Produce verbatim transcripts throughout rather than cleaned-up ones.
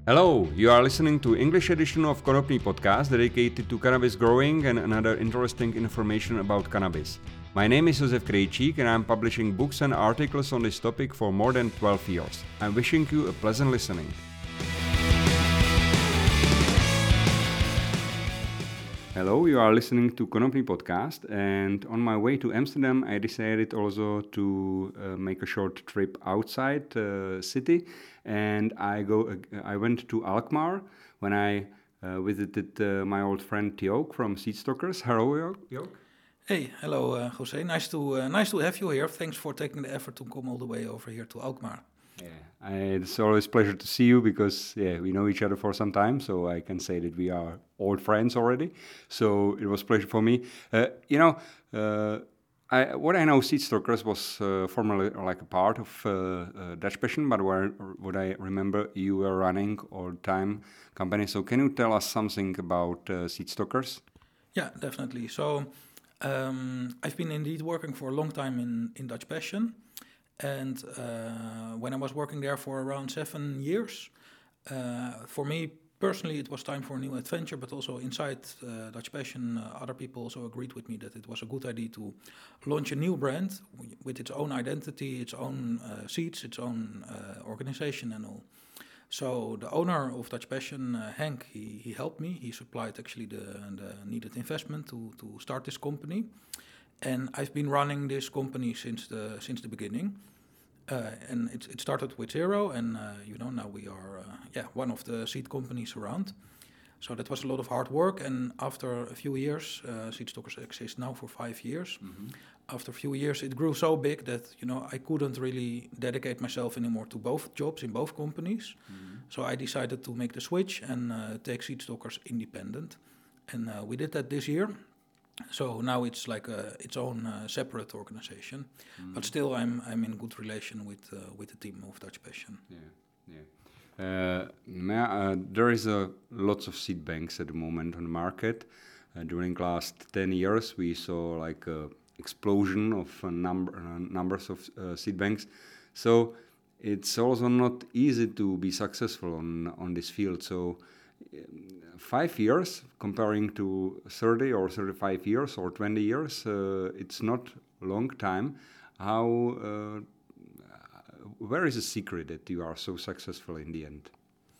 Hello, you are listening to English edition of Konopný podcast dedicated to cannabis growing and another interesting information about cannabis. My name is Josef Krejčík and I'm publishing books and articles on this topic for more than twelve years. I'm wishing you a pleasant listening. Hello, you are listening to Konopný podcast, and on my way to Amsterdam I decided also to uh, make a short trip outside uh, city, and I go. Uh, I went to Alkmaar when I uh, visited uh, my old friend Jook from Seedstockers. Hello, Jook. Hey, hello, uh, Jose. Nice to uh, nice to have you here. Thanks for taking the effort to come all the way over here to Alkmaar. Yeah, I, it's always a pleasure to see you because yeah, we know each other for some time, so I can say that we are old friends already. So it was a pleasure for me. Uh, you know, uh, I, what I know, Seedstockers was uh, formerly like a part of uh, uh, Dutch Passion, but where, what I remember, you were running all the time company. So can you tell us something about uh, Seedstockers? Yeah, definitely. So um, I've been indeed working for a long time in, in Dutch Passion. And uh, when I was working there for around seven years, uh, for me personally, it was time for a new adventure. But also inside uh, Dutch Passion, uh, other people also agreed with me that it was a good idea to launch a new brand with its own identity, its own uh, seats, its own uh, organization and all. So the owner of Dutch Passion, uh, Henk, he, he helped me. He supplied actually the, the needed investment to, to start this company. And I've been running this company since the since the beginning, uh, and it it started with zero, and uh, you know now we are uh, yeah one of the seed companies around. So that was a lot of hard work, and after a few years, uh, Seedstockers exists now for five years. Mm-hmm. After a few years, it grew so big that you know I couldn't really dedicate myself anymore to both jobs in both companies. Mm-hmm. So I decided to make the switch and uh, take Seedstockers independent, and uh, we did that this year. So now it's like a, its own uh, separate organization, mm. but still I'm I'm in good relation with uh, with the team of Dutch Passion. Yeah, yeah. Uh, uh, there is a lots of seed banks at the moment on the market. Uh, during last ten years, we saw like a explosion of uh, number uh, numbers of uh, seed banks. So it's also not easy to be successful on on this field. So. Five years comparing to thirty or thirty-five years or twenty years, uh, it's not a long time. How, uh, where is the secret that you are so successful in the end?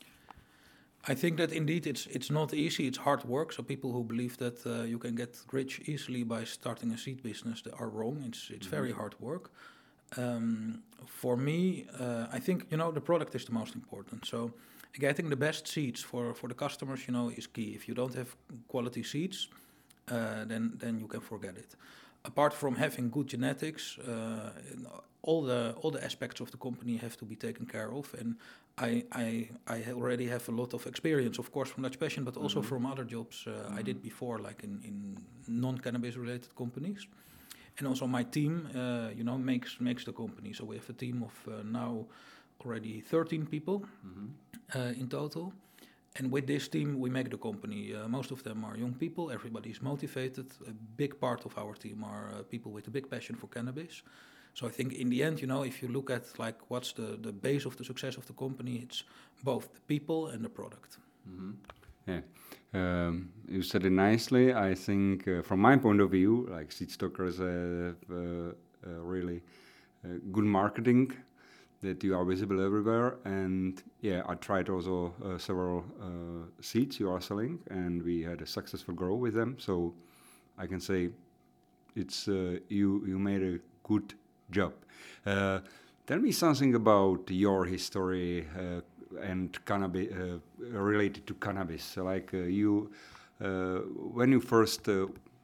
I think that indeed it's it's not easy, it's hard work. So people who believe that uh, you can get rich easily by starting a seed business, they are wrong. It's it's mm-hmm. very hard work. Um, for me, uh, I think, you know, the product is the most important. So getting the best seeds for, for the customers, you know, is key. If you don't have quality seeds, uh, then then you can forget it. Apart from having good genetics, uh, all the all the aspects of the company have to be taken care of. And I I, I already have a lot of experience, of course, from Dutch Passion, but also mm-hmm. from other jobs uh, mm-hmm. I did before, like in, in non-cannabis related companies. And also my team, uh, you know, makes makes the company. So we have a team of uh, now already thirteen people mm-hmm. uh, in total. And with this team, we make the company. Uh, most of them are young people. Everybody is motivated. A big part of our team are uh, people with a big passion for cannabis. So I think in the end, you know, if you look at like what's the, the base of the success of the company, it's both the people and the product. Mm-hmm. Yeah, um, you said it nicely. I think uh, from my point of view, like Seedstockers have uh, uh, really uh, good marketing, that you are visible everywhere. And yeah, I tried also uh, several uh, seeds you are selling, and we had a successful growth with them. So I can say it's uh, you you made a good job. Uh, tell me something about your history uh, and cannabis uh, related to cannabis. So like uh, you, uh, when you first uh,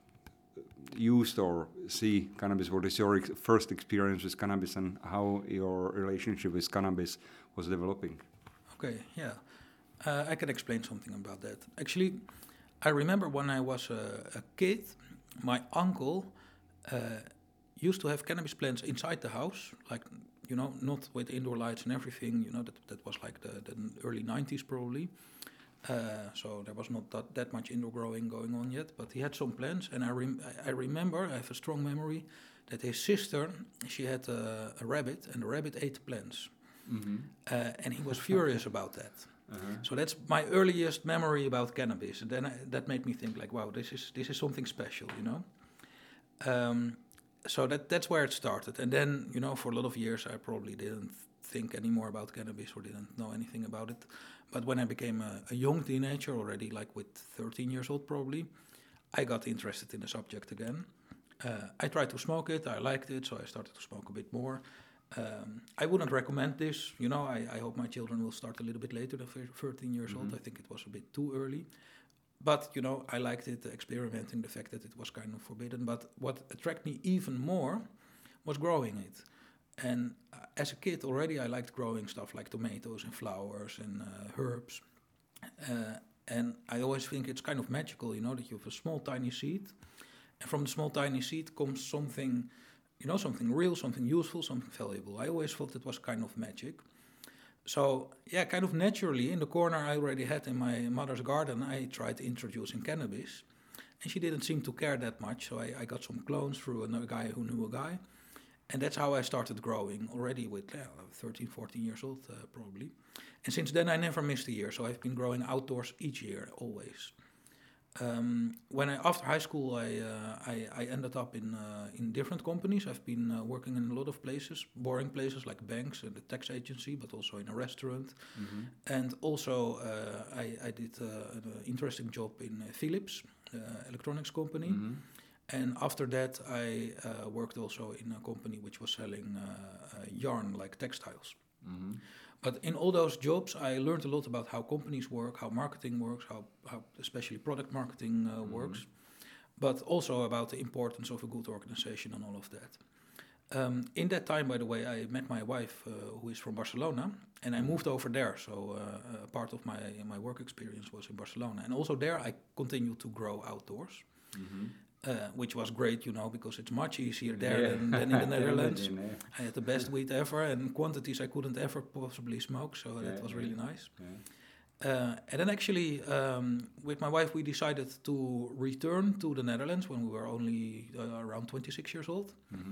used or see cannabis, what is your ex- first experience with cannabis and how your relationship with cannabis was developing? Okay, yeah. Uh, I can explain something about that. Actually, I remember when I was a, a kid, my uncle uh, used to have cannabis plants inside the house, like, you know, not with indoor lights and everything, you know, that, that was like the, the early nineties probably. Uh, so there was not that, that much indoor growing going on yet, but he had some plants, and I rem- I remember, I have a strong memory, that his sister, she had a, a rabbit, and the rabbit ate the plants. Mm-hmm. Uh, and he was furious about that. Uh-huh. So that's my earliest memory about cannabis. And then I, that made me think like, wow, this is this is something special, you know. Um, so that that's where it started. And then, you know, for a lot of years I probably didn't think anymore about cannabis or didn't know anything about it. But when I became a, a young teenager already, like with thirteen years old probably, I got interested in the subject again. Uh, I tried to smoke it, I liked it, so I started to smoke a bit more. Um, I wouldn't recommend this, you know, I, I hope my children will start a little bit later than thirteen years mm-hmm. old. I think it was a bit too early. But, you know, I liked it, experimenting, the fact that it was kind of forbidden. But what attracted me even more was growing it. And uh, as a kid already, I liked growing stuff like tomatoes and flowers and uh, herbs. Uh, and I always think it's kind of magical, you know, that you have a small, tiny seed. And from the small, tiny seed comes something, you know, something real, something useful, something valuable. I always thought it was kind of magic. So, yeah, kind of naturally, in the corner I already had in my mother's garden, I tried introducing cannabis. And she didn't seem to care that much, so I, I got some clones through another guy who knew a guy. And that's how I started growing, already with yeah, thirteen, fourteen years old, uh, probably. And since then, I never missed a year, so I've been growing outdoors each year, always. Um, when I, after high school, I, uh, I, I ended up in uh, in different companies. I've been uh, working in a lot of places, boring places like banks and the tax agency, but also in a restaurant. Mm-hmm. And also, uh, I, I did uh, an interesting job in uh, Philips, uh, electronics company. Mm-hmm. And after that, I uh, worked also in a company which was selling uh, uh, yarn, like textiles. Mm-hmm. But in all those jobs, I learned a lot about how companies work, how marketing works, how, how especially product marketing uh, mm-hmm. works, but also about the importance of a good organization and all of that. Um, in that time, by the way, I met my wife, uh, who is from Barcelona, and I moved over there. So uh, a part of my, my work experience was in Barcelona. And also there, I continued to grow outdoors. Mm-hmm. Uh, which was great, you know, because it's much easier there yeah. than, than in the Netherlands. Yeah. I had the best weed ever, and quantities I couldn't ever possibly smoke, so yeah, that was yeah. really nice. Yeah. Uh, and then actually, um, with my wife, we decided to return to the Netherlands when we were only uh, around twenty-six years old, mm-hmm.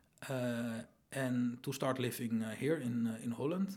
uh, and to start living uh, here in uh, in Holland.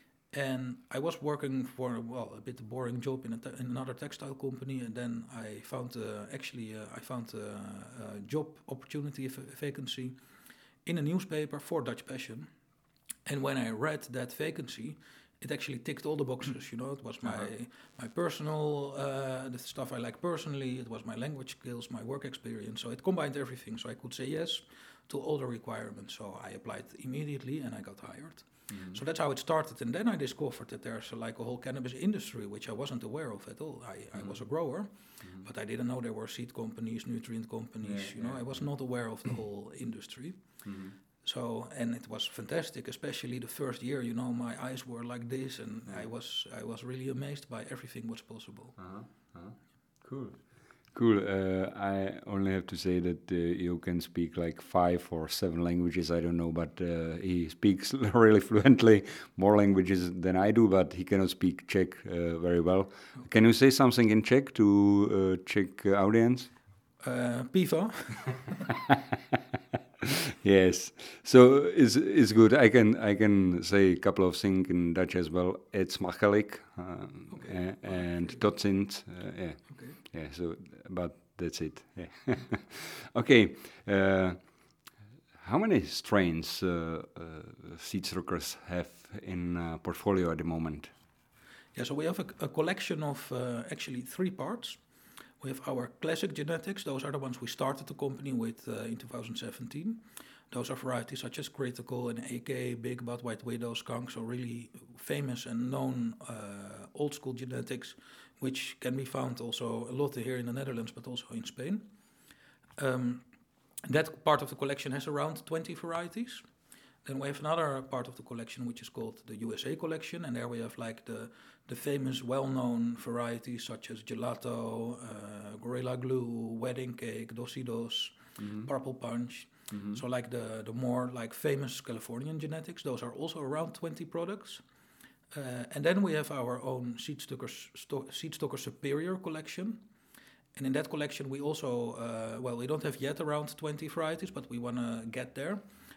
And I was working for, well, a bit boring job in, a te- in another textile company, and then I found, uh, actually, uh, I found a, a job opportunity, a v- vacancy, in a newspaper for Dutch Passion. And when I read that vacancy, it actually ticked all the boxes, you know. It was my uh-huh. my personal, uh, the stuff I like personally, it was my language skills, my work experience, so it combined everything, so I could say yes to all the requirements. So I applied immediately, and I got hired. Mm-hmm. So that's how it started, and then I discovered that there's uh, like a whole cannabis industry, which I wasn't aware of at all. I, mm-hmm. I was a grower, mm-hmm. but I didn't know there were seed companies, nutrient companies, yeah, you know, yeah, I was yeah. not aware of the whole industry. Mm-hmm. So, and it was fantastic, especially the first year, you know, my eyes were like this, and yeah. I was I was really amazed by everything what's possible. Uh-huh. Uh-huh. Cool. Cool. Uh, I only have to say that uh, you can speak like five or seven languages. I don't know, but uh, he speaks really fluently, more languages than I do. But he cannot speak Czech uh, very well. Okay. Can you say something in Czech to uh, Czech audience? Uh, pivo. Yes, so it's it's good. I can I can say a couple of things in Dutch as well. It's makkelijk uh, okay. uh, and okay. tot ziens. Uh, yeah, okay. yeah. So, but that's it. Yeah. Okay. Uh, how many strains uh, uh, Seedstruckers have in uh, portfolio at the moment? Yeah, so we have a, a collection of uh, actually three parts. We have our classic genetics. Those are the ones we started the company with uh, in two thousand seventeen. Those are varieties such as Critical and A K, Big Bud, White Widow, Skunk, so really famous and known uh, old school genetics, which can be found also a lot here in the Netherlands, but also in Spain. Um, that part of the collection has around twenty varieties. Then we have another part of the collection which is called the U S A collection, and there we have like the the famous, well-known varieties such as Gelato, uh, Gorilla Glue, Wedding Cake, Dosidos, mm-hmm. Purple Punch. Mm-hmm. So like the the more like famous Californian genetics, those are also around twenty products. Uh, and then we have our own Seedstuckers sto- Seedstucker Superior collection. And in that collection we also, uh, well, we don't have yet around twenty varieties, but we want to get there.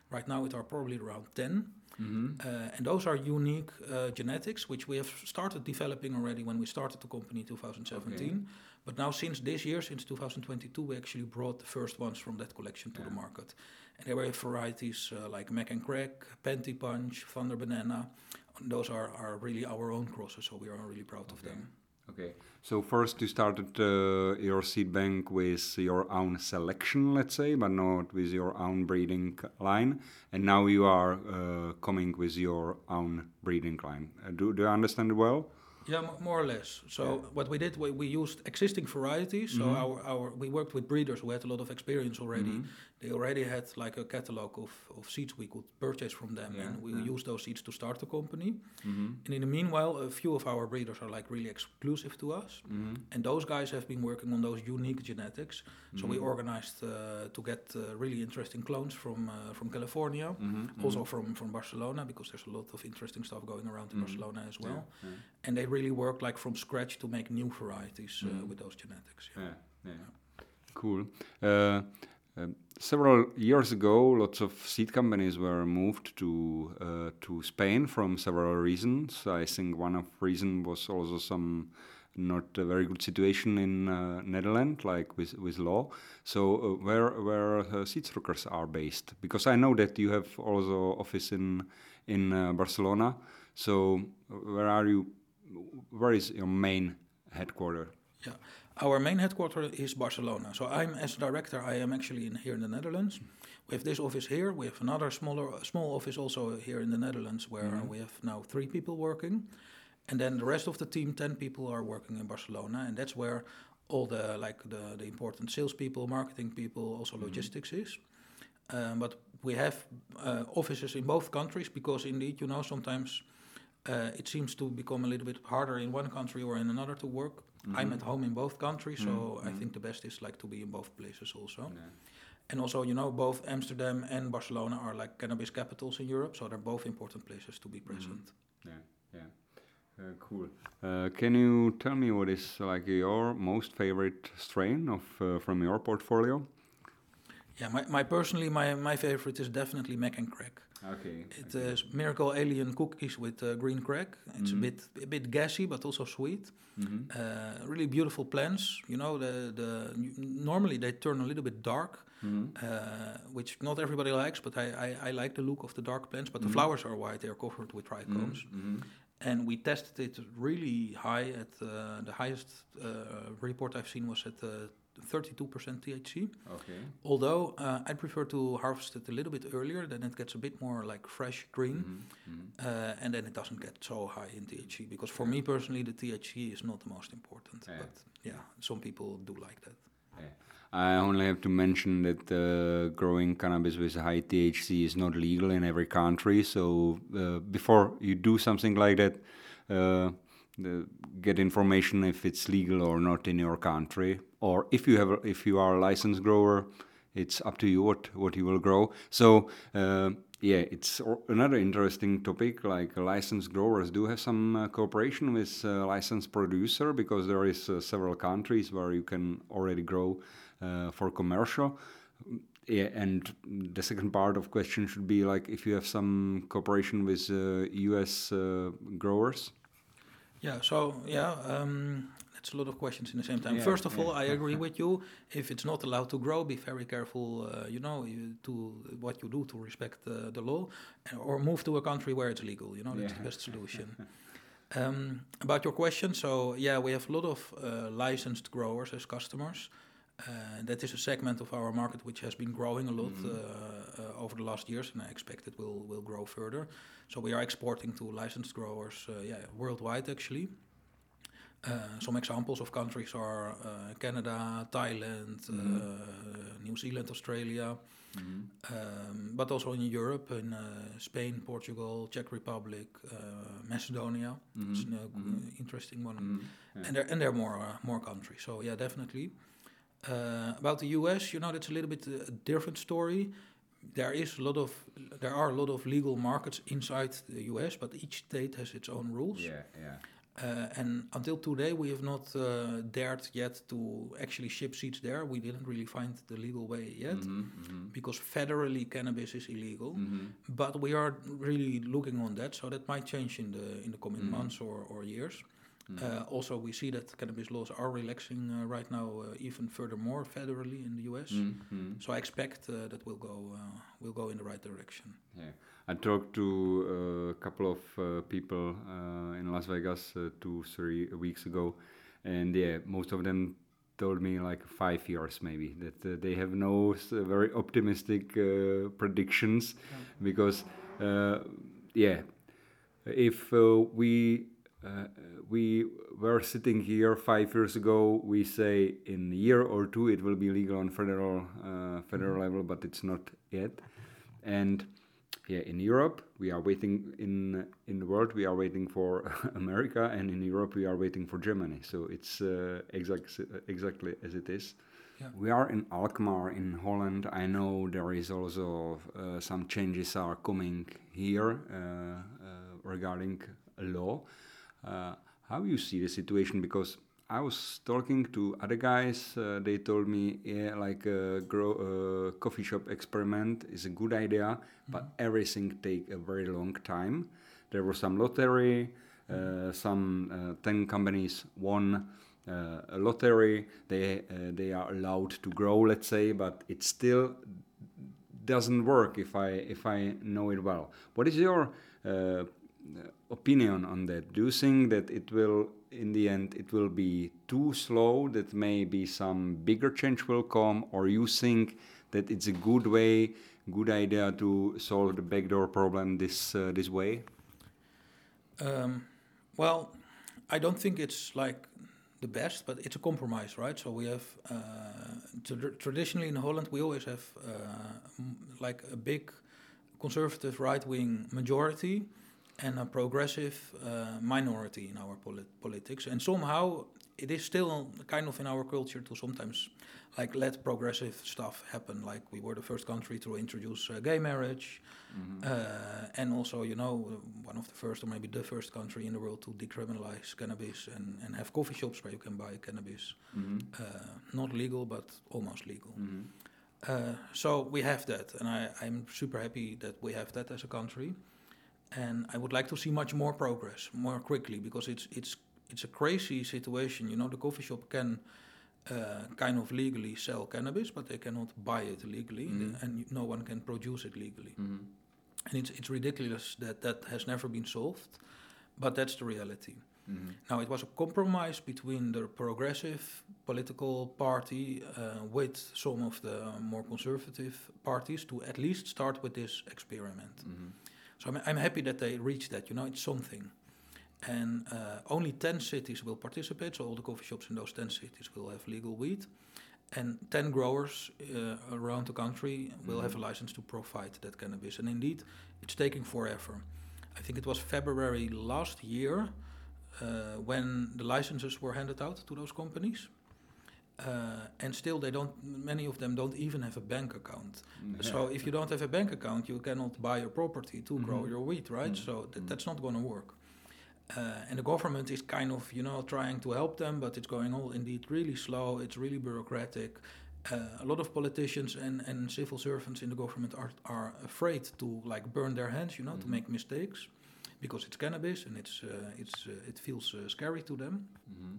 Right now it are probably around ten. Mm-hmm. Uh, and those are unique uh, genetics, which we have started developing already when we started the company in two thousand seventeen. Okay. But now since this year, since two thousand twenty-two, we actually brought the first ones from that collection to Yeah. the market. And there were varieties uh, like Mac and Crack, Panty Punch, Thunder Banana. Those are, are really our own crosses, so we are really proud of Okay. them. Okay, so first you started uh, your seed bank with your own selection, let's say, but not with your own breeding line, and now you are uh, coming with your own breeding line. Uh, do, do I understand it well? Yeah, m- more or less. So Yeah. what we did, we, we used existing varieties. So Mhm. our, our we worked with breeders who had a lot of experience already. Mhm. They already had like a catalog of, of seeds we could purchase from them, Yeah, and we yeah. used those seeds to start the company. Mm-hmm. And in the meanwhile, a few of our breeders are like really exclusive to us, Mm-hmm. and those guys have been working on those unique genetics. So we Mhm. organized uh, to get uh, really interesting clones from uh, from California, Mm-hmm. also from from Barcelona, because there's a lot of interesting stuff going around in Mhm. Barcelona as well. Yeah, yeah. And they really work like from scratch to make new varieties uh, Mhm. with those genetics. Yeah. Yeah, yeah. Cool. Uh, um, several years ago, lots of seed companies were moved to uh, to Spain from several reasons. I think one of reason was also some not a very good situation in uh, Netherlands, like with with law. So uh, where where uh, Seedstruckers are based? Because I know that you have also office in in uh, Barcelona. So uh, where are you? Where is your main headquarter? Yeah. Our main headquarter is Barcelona. So I'm as director. I am actually in here in the Netherlands. We have this office here. We have another smaller small office also here in the Netherlands, where Mhm. we have now three people working, and then the rest of the team, ten people, are working in Barcelona, and that's where all the like the the important salespeople, marketing people, also Mhm. logistics is. Um, but we have uh, offices in both countries because indeed, you know, sometimes uh, it seems to become a little bit harder in one country or in another to work. I'm Mhm. at home in both countries, so Mhm, I mhm. think the best is like to be in both places also. Yeah. And also, you know, both Amsterdam and Barcelona are like cannabis capitals in Europe, so they're both important places to be present. Yeah, yeah. Uh, cool. Uh, can you tell me what is like your most favorite strain of uh, from your portfolio? Yeah, my, my personally, my, my favorite is definitely Mac and Crack. Okay. It is Miracle Alien cookies with uh, green crack. It's Mhm. a bit a bit gassy, but also sweet. Mm-hmm. Uh, really beautiful plants. You know, the the normally they turn a little bit dark, Mm-hmm. uh, which not everybody likes. But I, I, I like the look of the dark plants. But Mhm. the flowers are white. They are covered with trichomes. Mm-hmm. And we tested it really high. At uh, the highest uh, report I've seen was at uh, thirty-two percent T H C. Okay. Although uh, I prefer to harvest it a little bit earlier, then it gets a bit more like fresh green, Mm-hmm. Mm-hmm. uh, and then it doesn't get so high in T H C. Because for me personally, the T H C is not the most important. Yeah. But yeah, some people do like that. I only have to mention that uh, growing cannabis with high T H C is not legal in every country. So uh, before you do something like that, uh, the, get information if it's legal or not in your country. Or if you have, a, if you are a licensed grower, it's up to you what what you will grow. So uh, yeah, it's o- another interesting topic. Like licensed growers do have some uh, cooperation with uh, licensed producer, because there is uh, several countries where you can already grow uh, for commercial. Yeah, and the second part of question should be like if you have some cooperation with uh, U S uh, growers. Yeah, so yeah, um, that's a lot of questions in the same time. Yeah, First of yeah. all, I agree with you. If it's not allowed to grow, be very careful. Uh, you know, you, to what you do to respect uh, the law, and- or move to a country where it's legal. You know, that's Yeah. the best solution. Um, about your question, so yeah, we have a lot of uh, licensed growers as customers. Uh, that is a segment of our market which has been growing a lot Mhm. uh, uh, over the last years, and I expect it will will grow further. So we are exporting to licensed growers, uh, yeah, worldwide actually. Uh, some examples of countries are uh, Canada, Thailand, Mhm. uh, New Zealand, Australia, Mhm. um, but also in Europe, in uh, Spain, Portugal, Czech Republic, uh, Macedonia. It's Mhm. an uh, Mhm. interesting one. Mhm. Yeah. And there and there are more uh, more countries. So yeah, definitely. Uh, about the U S, you know, that's a little bit uh, a different story. There is a lot of there are a lot of legal markets inside the U S, but each state has its own rules. Yeah, yeah. Uh, and until today, we have not uh, dared yet to actually ship seeds there. We didn't really find the legal way yet, Mm-hmm, mm-hmm. because federally cannabis is illegal. Mm-hmm. But we are really looking on that, so that might change in the in the coming Mm-hmm. months or, or years. Mm-hmm. Uh, also, we see that cannabis laws are relaxing uh, right now, uh, even furthermore federally in the U S. Mm-hmm. So I expect uh, that we'll go uh, we'll go in the right direction. Yeah, I talked to uh, a couple of uh, people uh, in Las Vegas uh, two, three weeks ago, and yeah, most of them told me like five years maybe that uh, they have no s- very optimistic uh, predictions, Yeah. because uh, yeah, if uh, we uh, we were sitting here five years ago, we say in a year or two it will be legal on federal uh, federal Mhm. level, but it's not yet. And yeah, in Europe we are waiting. In in the world we are waiting for America, and in Europe we are waiting for Germany. So it's uh, exact, exactly as it is. Yeah. We are in Alkmaar in Holland. I know there is also uh, some changes are coming here uh, uh, regarding a law. Uh, how you see the situation? Because I was talking to other guys. Uh, they told me, yeah, like a grow, uh, coffee shop experiment is a good idea, but everything take a very long time. There was some lottery. Uh, some uh, ten companies won uh, a lottery. They uh, they are allowed to grow, let's say, but it still doesn't work if I if I know it well. What is your uh, opinion on that? Do you think that it will, in the end, it will be too slow, that maybe some bigger change will come, or you think that it's a good way, good idea to solve the backdoor problem this uh, this way? Um, well, I don't think it's like the best, but it's a compromise, right? So we have uh, tra- traditionally in Holland we always have uh, m- like a big conservative right-wing majority and a progressive uh, minority in our polit- politics, and somehow it is still kind of in our culture to sometimes like let progressive stuff happen. Like we were the first country to introduce uh, gay marriage. Mm-hmm. Uh, and also, you know, one of the first or maybe the first country in the world to decriminalize cannabis and, and have coffee shops where you can buy cannabis. Mm-hmm. Uh, not legal, but almost legal. Mm-hmm. Uh, so we have that, and I, I'm super happy that we have that as a country. And I would like to see much more progress, more quickly, because it's it's it's a crazy situation. You know, the coffee shop can uh, kind of legally sell cannabis, but they cannot buy it legally, Mhm. and no one can produce it legally. Mm-hmm. And it's it's ridiculous that that has never been solved, but that's the reality. Mm-hmm. Now, it was a compromise between the progressive political party uh, with some of the more conservative parties to at least start with this experiment. Mm-hmm. So I'm, I'm happy that they reached that. You know, it's something. And uh, only ten cities will participate, so all the coffee shops in those ten cities will have legal weed. And ten growers uh, around the country will have a license to provide that cannabis. And indeed, it's taking forever. I think it was February last year uh, when the licenses were handed out to those companies. Uh, and still, they don't. Many of them don't even have a bank account. Yeah. So if you don't have a bank account, you cannot buy a property to grow Mhm. your wheat, right? Mhm. So th- Mhm. that's not going to work. Uh, and the government is kind of, you know, trying to help them, but it's going all indeed really slow. It's really bureaucratic. Uh, a lot of politicians and, and civil servants in the government are are afraid to like burn their hands, you know, to Mhm. make mistakes, because it's cannabis and it's uh, it's uh, it feels uh, scary to them. Mhm.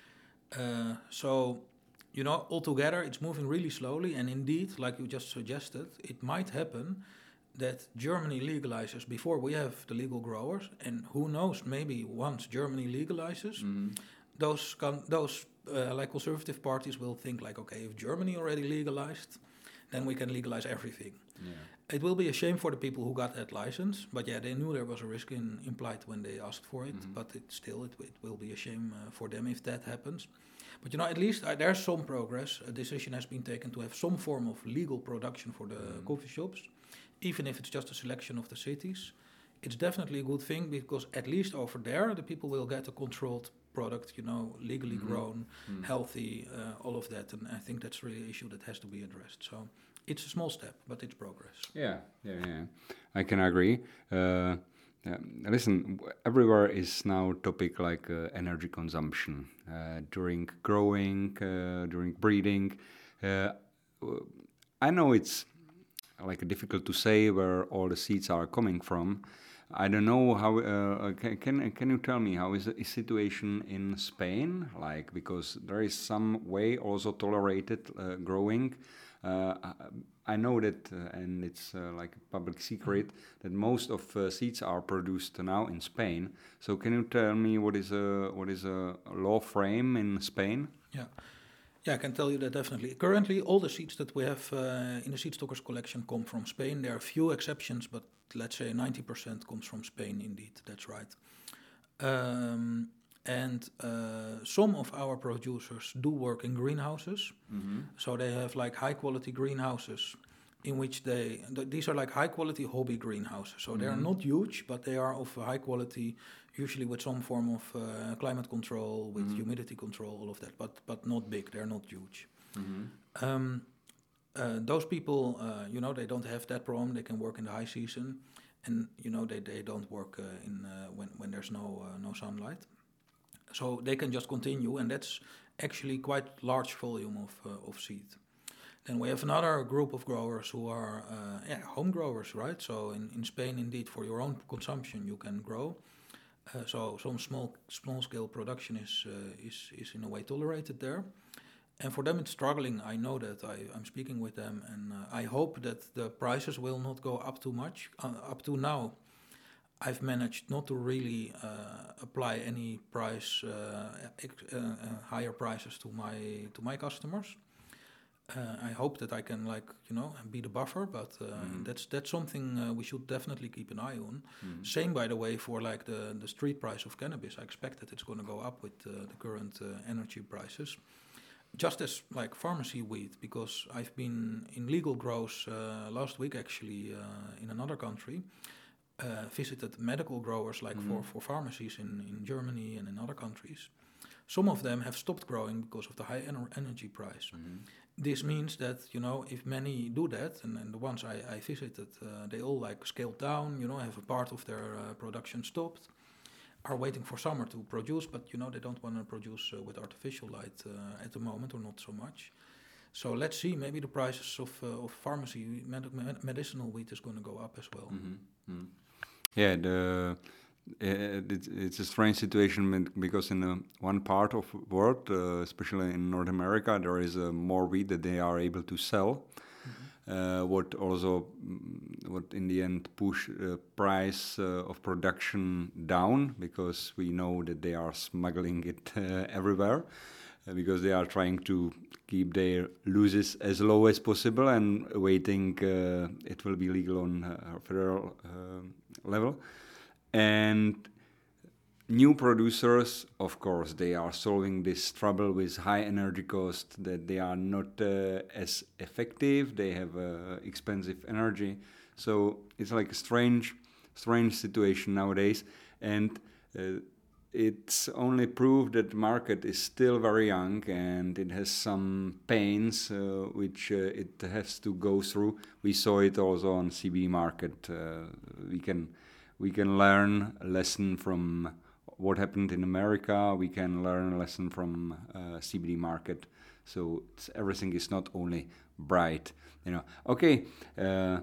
Uh, so, you know, altogether it's moving really slowly. And indeed, like you just suggested, it might happen that Germany legalizes before we have the legal growers, and who knows, maybe once Germany legalizes, Mhm. those con- those uh, like conservative parties will think like, okay, if Germany already legalized, then we can legalize everything. Yeah. It will be a shame for the people who got that license, but yeah, they knew there was a risk in, implied when they asked for it. Mhm. But it still, it, it will be a shame uh, for them if that happens. But you know, at least uh, there's some progress. A decision has been taken to have some form of legal production for the Mhm. coffee shops, even if it's just a selection of the cities. It's definitely a good thing, because at least over there, the people will get a controlled product, you know, legally Mhm. grown, Mhm. healthy, uh, all of that. And I think that's really an issue that has to be addressed. So it's a small step, but it's progress. Yeah, yeah, yeah. I can agree. Uh, Yeah, listen, w- everywhere is now topic like uh, energy consumption uh, during growing, uh, during breeding. Uh, w- I know it's like difficult to say where all the seeds are coming from. I don't know how. Uh, uh, can, can can you tell me how is the situation in Spain? Like because there is some way also tolerated uh, growing. Uh, I I know that, uh, and it's uh, like a public secret that most of uh, seeds are produced now in Spain. So can you tell me what is a what is a law frame in Spain? Yeah. Yeah, I can tell you that definitely. Currently, all the seeds that we have uh, in the seed stockers collection come from Spain. There are a few exceptions, but let's say ninety percent comes from Spain indeed. That's right. Um, and uh, some of our producers do work in greenhouses. Mm-hmm. So they have like high quality greenhouses in which they, th- these are like high quality hobby greenhouses. So they are Mhm. not huge, but they are of high quality, usually with some form of uh, climate control, with Mhm. humidity control, all of that, but, but not big, they're not huge. Mm-hmm. Um, uh, those people, uh, you know, they don't have that problem. They can work in the high season, and you know, they, they don't work uh, in uh, when when there's no uh, no sunlight. So they can just continue, and that's actually quite large volume of uh, of seed. Then we have another group of growers who are uh, yeah, home growers, right? So in, in Spain, indeed, for your own consumption, you can grow. Uh, so some small small scale production is uh, is is in a way tolerated there. And for them, it's struggling. I know that. I, I'm speaking with them, and uh, I hope that the prices will not go up too much. Uh, up to now, I've managed not to really uh, apply any price uh, ex- uh, uh, higher prices to my to my customers. Uh, I hope that I can, like, you know, be the buffer, but uh, Mhm. that's that's something uh, we should definitely keep an eye on. Mhm. Same, by the way, for like the the street price of cannabis. I expect that it's going to go up with uh, the current uh, energy prices. Just as like pharmacy weed, because I've been in legal grows uh, last week actually uh, in another country. Uh, visited medical growers like for, Mhm. for pharmacies in, in Germany and in other countries. Some of them have stopped growing because of the high ener- energy price. Mhm. This means that, you know, if many do that, and, and the ones I, I visited, uh, they all like scaled down, you know, have a part of their uh, production stopped, are waiting for summer to produce, but, you know, they don't want to produce uh, with artificial light uh, at the moment, or not so much. So let's see, maybe the prices of, uh, of pharmacy, med- med- medicinal wheat is going to go up as well. Mhm. Mhm. Yeah, the uh, it's, it's a strange situation when- because in uh, one part of world, uh, especially in North America, there is uh, more wheat that they are able to sell. Uh, what also, mm, what in the end push uh, price uh, of production down because we know that they are smuggling it uh, everywhere uh, because they are trying to keep their losses as low as possible and waiting uh, it will be legal on uh, federal uh, level. And new producers, of course, they are solving this trouble with high energy cost that they are not uh, as effective. They have uh, expensive energy, so it's like a strange, strange situation nowadays. And uh, it's only proof that the market is still very young and it has some pains uh, which uh, it has to go through. We saw it also on C B D market. Uh, we can we can learn a lesson from what happened in America. We can learn a lesson from uh, C B D market. So it's, everything is not only bright, you know. Okay, uh,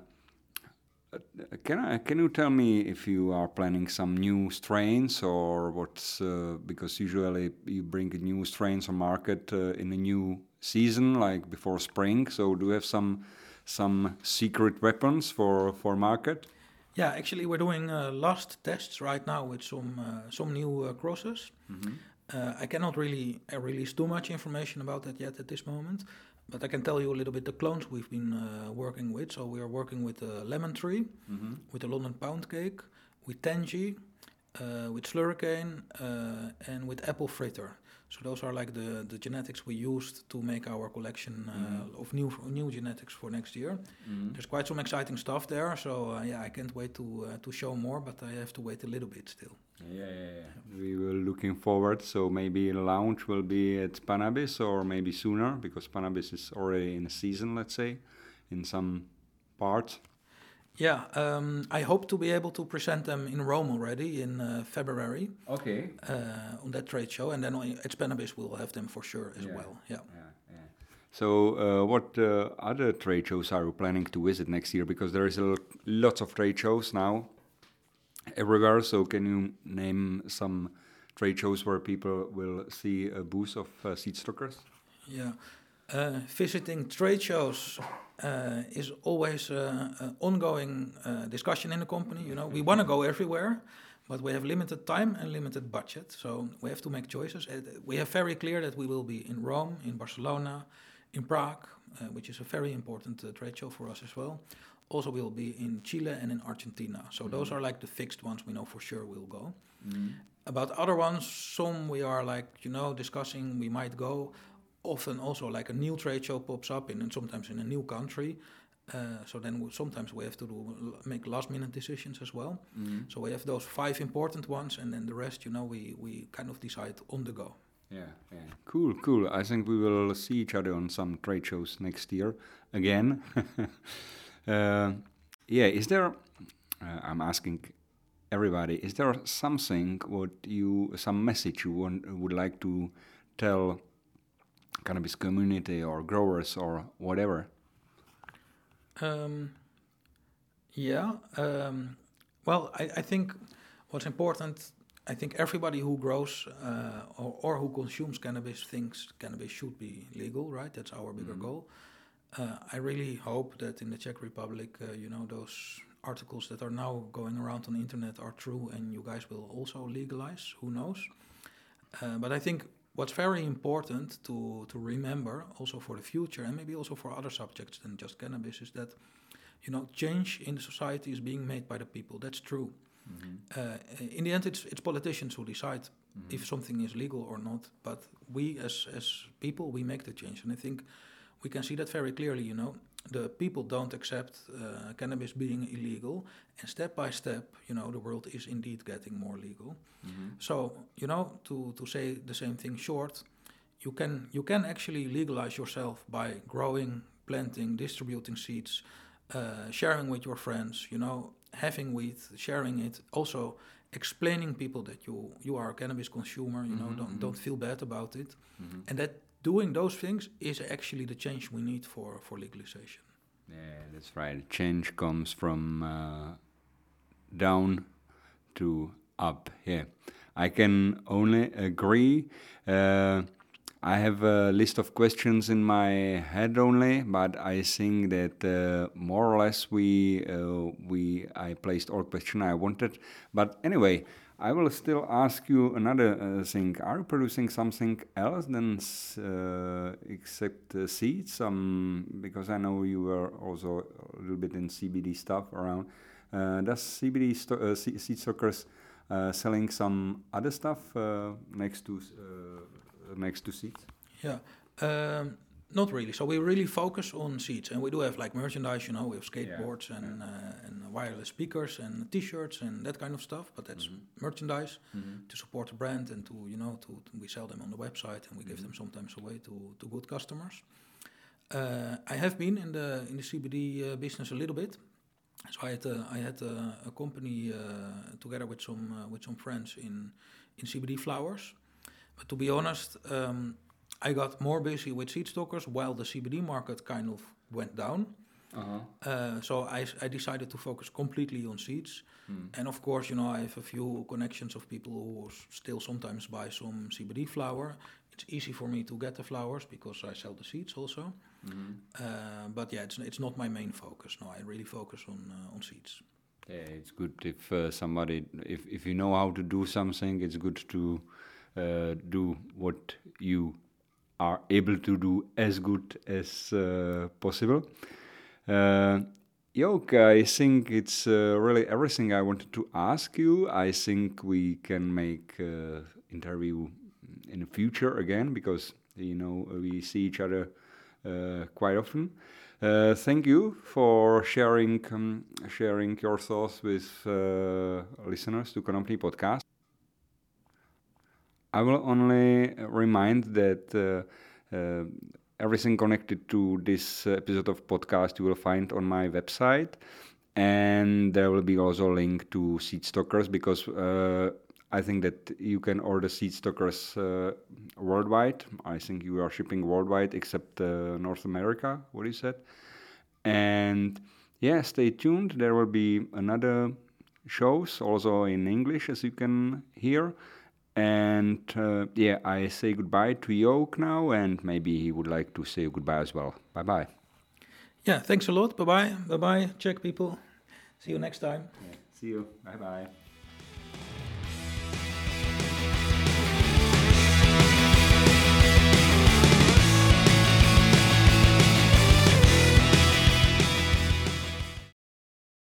can I can you tell me if you are planning some new strains or what's uh, because usually you bring new strains on market uh, in a new season like before spring. So do you have some some secret weapons for for market? Yeah, actually, we're doing uh, last tests right now with some uh, some new uh, crosses. Mm-hmm. Uh, I cannot really uh, release too much information about that yet at this moment, but I can tell you a little bit the clones we've been uh, working with. So we are working with uh, Lemon Tree, Mm-hmm. with the London Pound Cake, with Tangy, uh, with Slurricane, uh, and with Apple Fritter. So those are like the, the genetics we used to make our collection uh, Mhm. of new new genetics for next year. Mm-hmm. There's quite some exciting stuff there. So uh, yeah, I can't wait to uh, to show more, but I have to wait a little bit still. Yeah, yeah, yeah. We were looking forward. So maybe a launch will be at Panabis or maybe sooner because Panabis is already in a season, let's say, in some parts. Yeah, um, I hope to be able to present them in Rome already in uh, February Okay. uh, on that trade show, and then on, at Spannabis we'll have them for sure as Yeah. well. Yeah. Yeah, yeah. So, uh, what uh, other trade shows are you planning to visit next year? Because there is a l- lots of trade shows now everywhere. So, can you name some trade shows where people will see a booth of uh, seed stockers? Yeah. Uh, visiting trade shows uh, is always uh, an ongoing uh, discussion in the company. You know, we want to go everywhere, but we have limited time and limited budget, so we have to make choices. Uh, we have very clear that we will be in Rome, in Barcelona, in Prague, uh, which is a very important uh, trade show for us as well. Also, we'll be in Chile and in Argentina. So mm-hmm. those are like the fixed ones we know for sure we'll go. Mm-hmm. About other ones, some we are like, you know, discussing, we might go. Often also like a new trade show pops up in, and sometimes in a new country. Uh, so then we, sometimes we have to do make last minute decisions as well. Mm-hmm. So we have those five important ones, and then the rest, you know, we, we kind of decide on the go. Yeah, yeah. Cool, cool. I think we will see each other on some trade shows next year again. uh, yeah, is there, uh, I'm asking everybody, is there something, what you, some message you want, would like to tell cannabis community or growers or whatever? Um, yeah. Um, well, I, I think what's important, I think everybody who grows uh, or, or who consumes cannabis thinks cannabis should be legal, right? That's our bigger mm-hmm. goal. Uh, I really hope that in the Czech Republic, uh, you know, those articles that are now going around on the internet are true, and you guys will also legalize. Who knows? Uh, but I think what's very important to, to remember also for the future, and maybe also for other subjects than just cannabis, is that, you know, change in the society is being made by the people. That's true. Mm-hmm. Uh, in the end, it's it's politicians who decide mm-hmm. if something is legal or not. But we, as as people, we make the change, and I think we can see that very clearly. You know, the people don't accept uh, cannabis being illegal, and step by step, you know, the world is indeed getting more legal. Mm-hmm. So, you know, to, to say the same thing short, you can you can actually legalize yourself by growing, planting, distributing seeds, uh, sharing with your friends, you know, having weed, sharing it, also explaining people that you you are a cannabis consumer, you mm-hmm. know, don't don't feel bad about it, mm-hmm. and that doing those things is actually the change we need for, for legalization. Yeah, that's right. Change comes from uh, down to up. Yeah, I can only agree. Uh, I have a list of questions in my head only, but I think that uh, more or less we uh, we I placed all questions I wanted. But anyway, I will still ask you another uh, thing. Are you producing something else than uh, except uh, seeds? Um, because I know you were also a little bit in C B D stuff around. Uh, does C B D sto- uh, seed stockers uh, selling some other stuff uh, next to uh, next to seeds? Yeah. Um, Not really. So we really focus on seeds, and we do have like merchandise. You know, we have skateboards yeah, and yeah. Uh, and wireless speakers and T-shirts and that kind of stuff. But that's mm-hmm. merchandise mm-hmm. to support the brand and to you know to, to we sell them on the website and we mm-hmm. give them sometimes away to, to good customers. Uh, I have been in the in the C B D uh, business a little bit. So I had uh, I had uh, a company uh, together with some uh, with some friends in in C B D flowers. But to be honest. Um, I got more busy with seed stockers while the C B D market kind of went down. Uh-huh. Uh, so I, I decided to focus completely on seeds. Mm. And of course, you know, I have a few connections of people who still sometimes buy some C B D flower. It's easy for me to get the flowers because I sell the seeds also. Mm-hmm. Uh, but yeah, it's it's not my main focus. No, I really focus on uh, on seeds. Yeah, it's good if uh, somebody, if, if you know how to do something, it's good to uh, do what you are able to do as good as uh, possible. Uh, Jok, I think it's uh, really everything I wanted to ask you. I think we can make uh, interview in the future again because, you know, we see each other uh, quite often. Uh, thank you for sharing um, sharing your thoughts with uh, listeners to Konopný Podcast. I will only remind that uh, uh, everything connected to this episode of podcast you will find on my website. And there will be also a link to Seed Stockers, because uh, I think that you can order Seed Stockers uh, worldwide. I think you are shipping worldwide except uh, North America, what you said. And yeah, stay tuned. There will be another shows also in English, as you can hear. And uh, yeah, I say goodbye to Jook now, and maybe he would like to say goodbye as well. Bye bye. Yeah, thanks a lot. Bye bye. Bye bye, Czech people. See you next time. Yeah, see you. Bye bye.